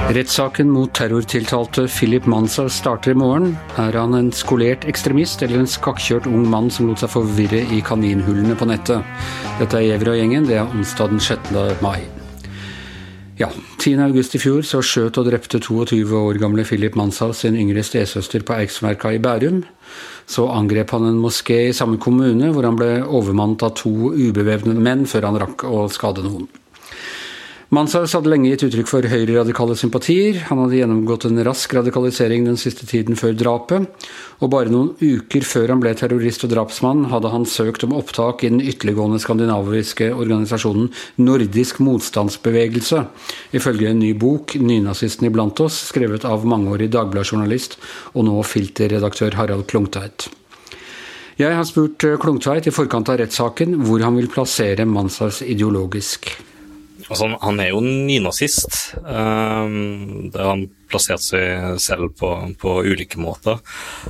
Rettssaken mot terrortiltalte Philip Manzar starter i morgen. Er han en skolert ekstremist eller en skakkjørt ung mann som lot seg forvirre i kaninhullene på nettet? Dette er Gjever og gjengen, det er onsdag den 6. mai. Ja, 10. august i fjor så skjøt og drepte 22 år gamle Philip Manzar sin yngre stesøster på Eiksmarka i Bærum. Så angrep han en moské i samme kommune, hvor han ble overmannet av 2 ubevæpnede menn før han rakk å skade noen. Manzar hadde lenge gitt uttrykk for høyreradikale sympatier. Han hadde gjennomgått en rask radikalisering den siste tiden før drapet, og bare noen uker før han ble terrorist og drapsmann hadde han søkt om opptak i den ytterliggående skandinaviske organisasjonen Nordisk motstandsbevegelse, ifølge en ny bok, Nynazisten iblant oss, skrevet av mangeårig Dagbladet-journalist og nå filterredaktør Harald Klungtveit. Jeg har spurt Klungtveit i forkant av rettssaken hvor han vil plassere Manzars ideologisk. Altså, han er jo nynazist, der han plassert seg selv på ulike måter.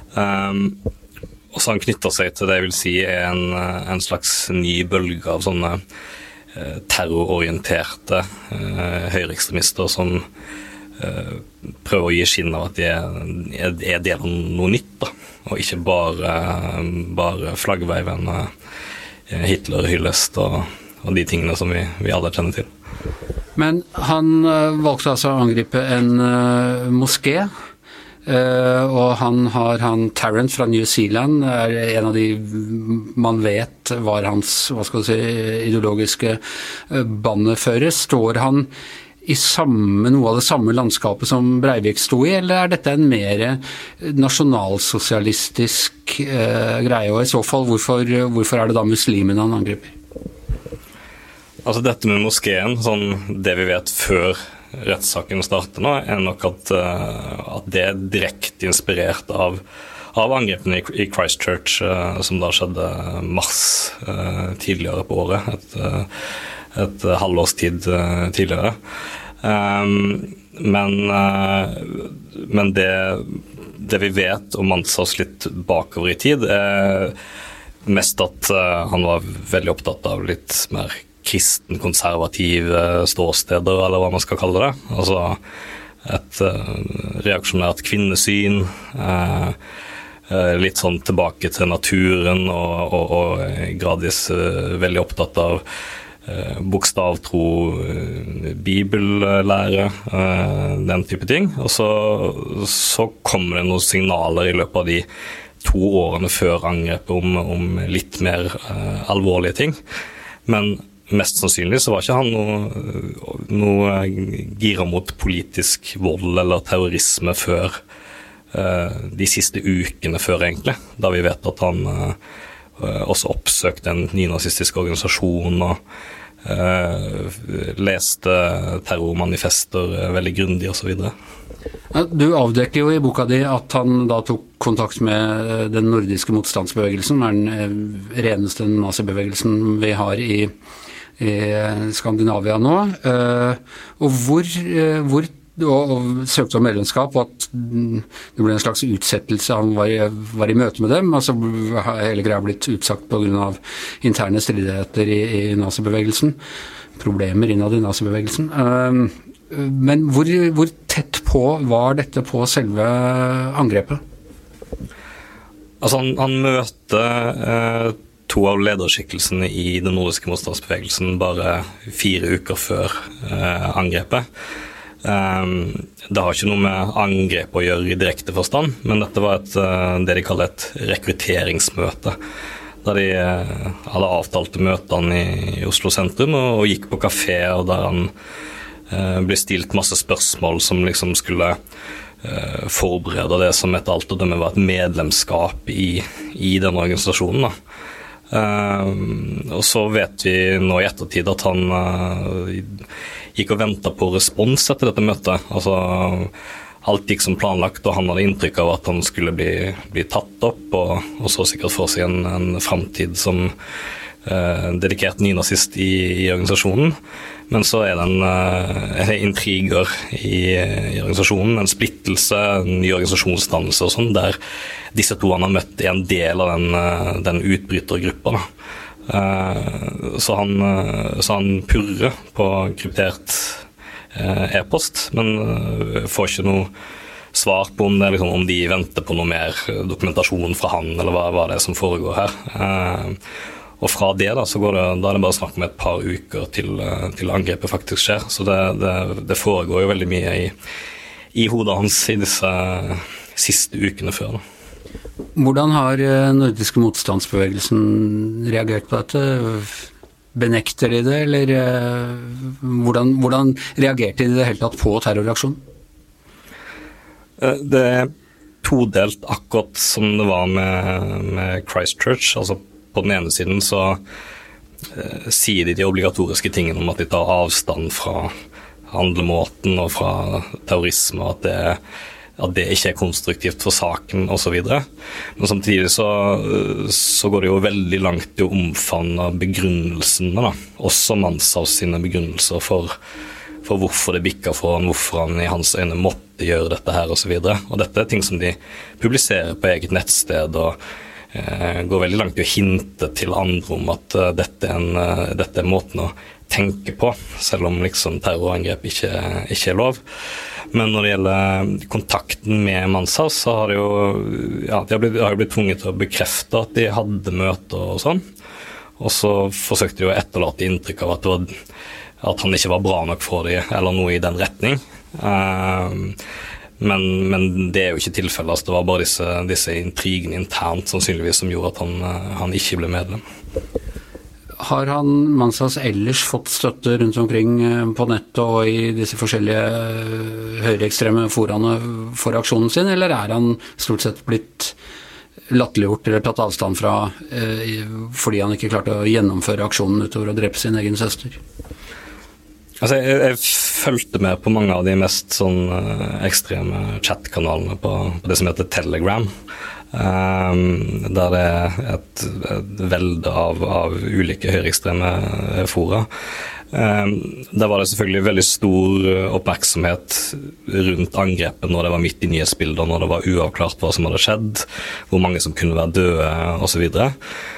Og så han knytter seg til det jeg vil si er en slags ny bølge av sånne terrororienterte høyreekstremister som prøver å gi skinn av at de er del av noe nytt, da, og ikke bare flaggveivende Hitler-hyllest og de tingene som vi alle kjenner til. Men han valgte altså å angripe en moské, og han Tarrant fra New Zealand er en av de man vet var hans, ideologiske bannefører. Står han i noe av det samme landskapet som Breivik sto i, eller er dette en mer nasjonalsosialistisk greie, og i så fall hvorfor er det da muslimene han angriper? Altså dette med moskeen, sånn det vi vet før rettssaken starter nå, er nok at det er direkte inspirert av angrepene i Christchurch, som da skjedde mars tidligere på året, et halvårstid tidligere. Men det vi vet om Manzars litt bakover i tid, er mest at han var veldig opptatt av litt mer kristen-konservative ståsteder, eller hva man skal kalle det. Altså et reaksjonært kvinnesyn, litt sånn tilbake til naturen, og gradvis veldig opptatt av bokstavtro, bibellære, den type ting. Og så kommer det noen signaler i løpet av de 2 årene før angrepet om litt mer alvorlige ting. Men mest sannsynlig så var ikke han noe gira mot politisk vold eller terrorisme før de siste ukene før egentlig, da vi vet at han også oppsøkte en nynazistisk organisasjon og leste terrormanifester veldig grundig og så videre. Du avdekker jo i boka di at han da tok kontakt med den nordiske motstandsbevegelsen, den reneste nazibevegelsen vi har i Skandinavia nå, og hvor søkte om medlemskap, og at det ble en slags utsettelse. Han var i møte med dem, altså hele greia blitt utsagt på grunn av interne stridigheter i nazibevegelsen, problemer innad i nazibevegelsen. Men hvor tett på var dette på selve angrepet? Altså han møter 2 av lederskikkelsene i den nordiske motstandsbevegelsen bare 4 uker før angrepet. Det har ikke noe med angrep å gjøre i direkte forstand, men dette var det de kaller et rekrutteringsmøte, der de hadde avtalte møtene i Oslo sentrum og gikk på kafé, og der han ble stilt masse spørsmål som liksom skulle forberede det som etter alt å dømme var et medlemskap i denne organisasjonen da. Og så vet vi nå i ettertid at han gikk og ventet på respons etter dette møtet. Altså alt gikk som planlagt, og han hadde inntrykk av at han skulle bli tatt opp, og så sikkert for seg en fremtid som dedikert nynazist i organisasjonen. Men så er det intriger i organisasjonen, en splittelse, en ny organisasjonsdannelse og sånn, der disse 2 han har møtt er en del av den utbrytergruppa da. Så han purrer på kryptert e-post, men får ikke noe svar på om, liksom, om de venter på noe mer dokumentasjon fra han, eller hva det er som foregår her. Og fra det da, så da er det bare snakk om et par uker til angrepet faktisk skjer, så det foregår jo veldig mye i hodet hans i disse siste ukene før da. Hvordan har nordiske motstandsbevegelsen reagert på dette? Benekter de det, eller hvordan reagerte de i det hele tatt på terroraksjonen? Det er todelt akkurat som det var med Christchurch. Altså på den ene siden så sier de obligatoriske tingene om at de tar avstand fra handlemåten og fra terrorisme, og at det ikke er konstruktivt for saken og så videre. Men samtidig så går det jo veldig langt i å omfavne begrunnelsene da. Også Manshaus sine begrunnelser for hvorfor det bikket for han, hvorfor han i hans øyne måtte gjøre dette her og så videre. Og dette er ting som de publiserer på eget nettsted og går veldig langt i å hinte til andre om at dette er måten å tenke på, selv om liksom terrorangrep ikke er lov. Men når det gjelder kontakten med Manshaus, så har de har blitt tvunget til å bekrefte at de hadde møter og sånn. Og så forsøkte de å etterlate inntrykk av at han ikke var bra nok for dem, eller noe i den retning. Men det er jo ikke tilfellet, altså det var bare disse intrigene internt sannsynligvis som gjorde at han ikke ble medlem. Har Manshaus ellers fått støtte rundt omkring på nettet og i disse forskjellige høyreekstreme foraene for aksjonen sin, eller er han stort sett blitt latterliggjort eller tatt avstand fra fordi han ikke klarte å gjennomføre aksjonen utover å drepe sin egen søster? Altså, jeg følte med på mange av de mest sånn ekstreme chatkanalene på det som heter Telegram, der det er et velde av ulike høyreekstreme fora. Der var det selvfølgelig veldig stor oppmerksomhet rundt angrepet når det var midt i nyhetsbilder, når det var uavklart hva som hadde skjedd, hvor mange som kunne være døde og så videre.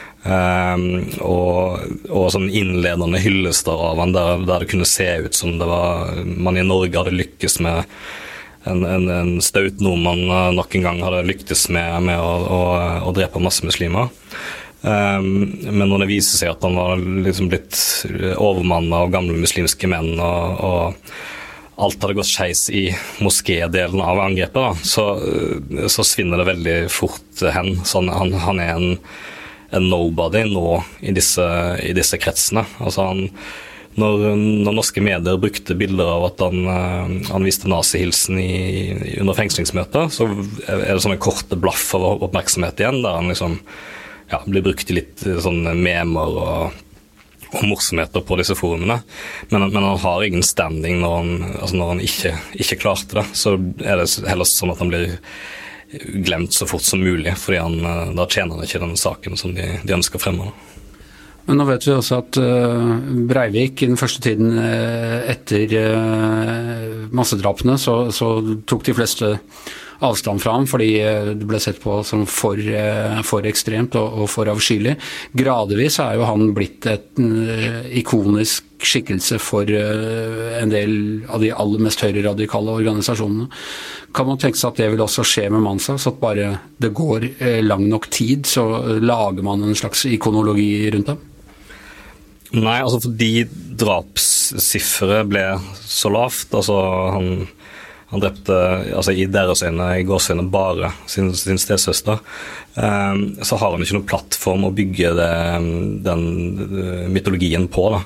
Og sånn innledende hyllester av han der det kunne se ut som det var man i Norge hadde lykkes med en staut nordmann nok en gang hadde lyktes med å drepe masse muslimer. Men når det viser seg at han var liksom blitt overmannet av gamle muslimske menn og alt hadde gått skeis i moskédelen av angrepet da, så svinner det veldig fort hen. Så han er en nobody nå i disse kretsene. Altså når norske medier brukte bilder av at han viste nazihilsen under fengslingsmøter, så er det sånne korte blaff av oppmerksomhet igjen, der han liksom blir brukt i litt sånne memer og morsomheter på disse forumene. Men han har ingen standing når han ikke klarte det, så er det heller sånn at han blir glemt så fort som mulig, fordi da tjener han ikke den saken som de ønsker fremme. Men nå vet vi også at Breivik i den første tiden etter massedrapene så tok de fleste avstand fra ham, fordi det ble sett på som for ekstremt og for avskyelig. Gradvis er jo han blitt en ikonisk skikkelse for en del av de aller mest høyreradikale organisasjonene. Kan man tenke seg at det vil også skje med Manshaus, at bare det går lang nok tid, så lager man en slags ikonologi rundt ham? Nei, altså fordi drapssifferet ble så lavt, altså han drepte, altså i deres øyne, i gåsøyne bare sin stesøster, så har han ikke noen plattform å bygge den mytologien på da.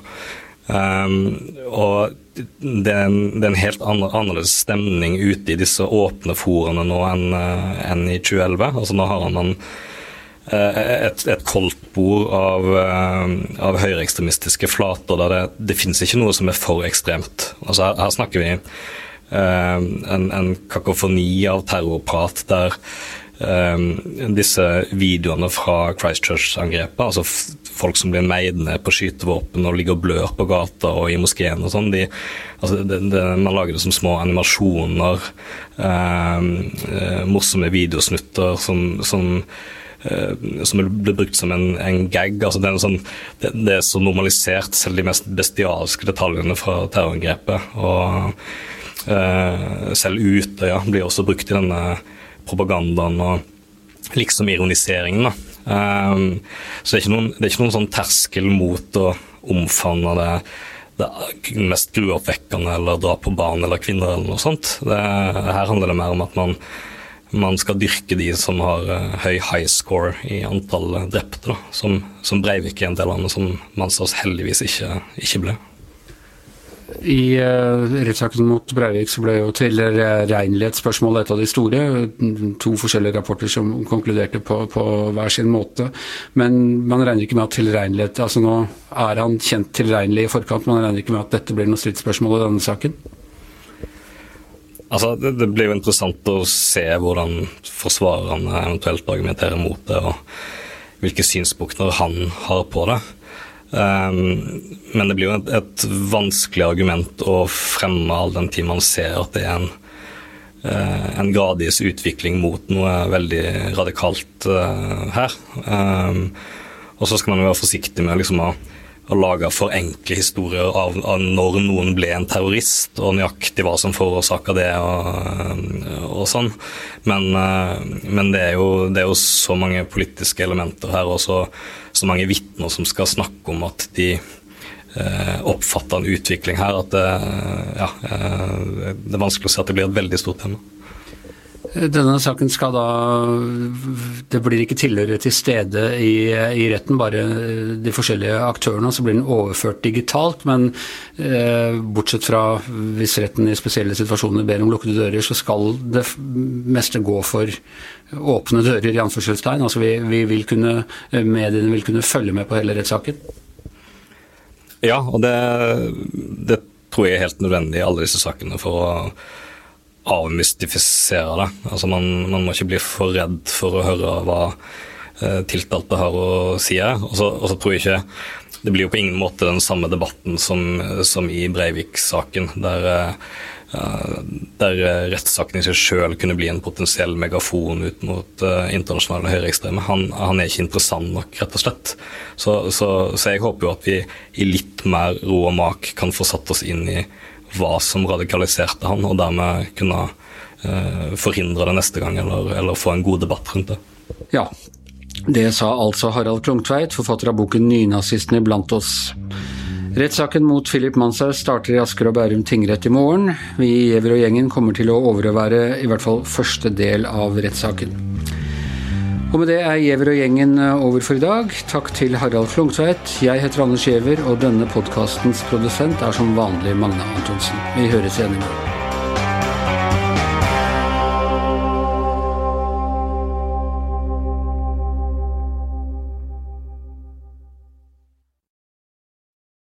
Og det er en helt annerledes stemning ute i disse åpne forene nå enn i 2011. Altså nå har han et koldtbord av høyreekstremistiske flater der det finnes ikke noe som er for ekstremt. Altså her snakker vi en kakofoni av terrorprat der disse videoene fra Christchurch-angrepet, altså folk som blir meid ned på skytevåpen og ligger og blør på gata og i moskeen og sånn, man lager det som små animasjoner, morsomme videosnutter som som ble brukt som en gag. Altså det så normalisert, selv de mest bestialske detaljene fra terrorangrepet. Og selv Utøya blir også brukt i denne propagandaen og liksom ironiseringen. Så det er ikke noen sånn terskel mot å omfavne det mest gruoppvekkende eller dra på barn eller kvinner eller noe sånt. Her handler det mer om at man skal dyrke de som har høy high score i antall drepte, da, som Breivik er en del av, men som Manshaus heldigvis ikke ble. I rettssaken mot Breivik så ble jo tilregnelighetsspørsmålet et av de store, 2 forskjellige rapporter som konkluderte på hver sin måte, men man regner ikke med at tilregnelighet, altså nå er han kjent tilregnelig i forkant, man regner ikke med at dette blir noe stridsspørsmål i denne saken? Altså, det blir jo interessant å se hvordan forsvarerne eventuelt argumenterer mot det, og hvilke synspunkter han har på det. Men det blir jo et vanskelig argument å fremme all den tid man ser at det er en gradvis utvikling mot noe veldig radikalt her. Og så skal man jo være forsiktig med liksom å lage for enkle historier av når noen ble en terrorist, og nøyaktig hva som forårsaker det og sånn. Men det er jo så mange politiske elementer her, og så mange vitner som skal snakke om at de oppfatter en utvikling her, at det er vanskelig å se at det blir et veldig stort tema. Denne saken skal da, det blir ikke tilhørere til stede i retten, bare de forskjellige aktørene, så blir den overført digitalt, men bortsett fra hvis retten i spesielle situasjoner ber om lukkede dører, så skal det meste gå for åpne dører i anførselstegn, altså mediene vil kunne følge med på hele rettssaken. Ja, og det tror jeg er helt nødvendig i alle disse sakene for å avmystifisere det. Altså man må ikke bli for redd for å høre hva tiltalte har å si her. Og så tror jeg ikke det blir jo på ingen måte den samme debatten som i Breivik-saken, der rettssaken i seg selv kunne bli en potensiell megafon ut mot internasjonale høyreekstreme. Han er ikke interessant nok, rett og slett. Så jeg håper jo at vi i litt mer ro og mak kan få satt oss inn i hva som radikaliserte han, og dermed kunne forhindre det neste gang, eller få en god debatt rundt det. Ja, det sa altså Harald Klungtveit, forfatter av boken Nynazistene blant oss. Rettssaken mot Philip Manshaus starter i Asker og Bærum tingrett i morgen. Vi i Giæver og gjengen kommer til å overvære i hvert fall første del av rettssaken. Og med det er Giæver og gjengen over for i dag. Takk til Harald Klungtveit. Jeg heter Anders Giæver, og denne podcastens produsent er som vanlig Magne Antonsen. Vi høres igjen i morgen.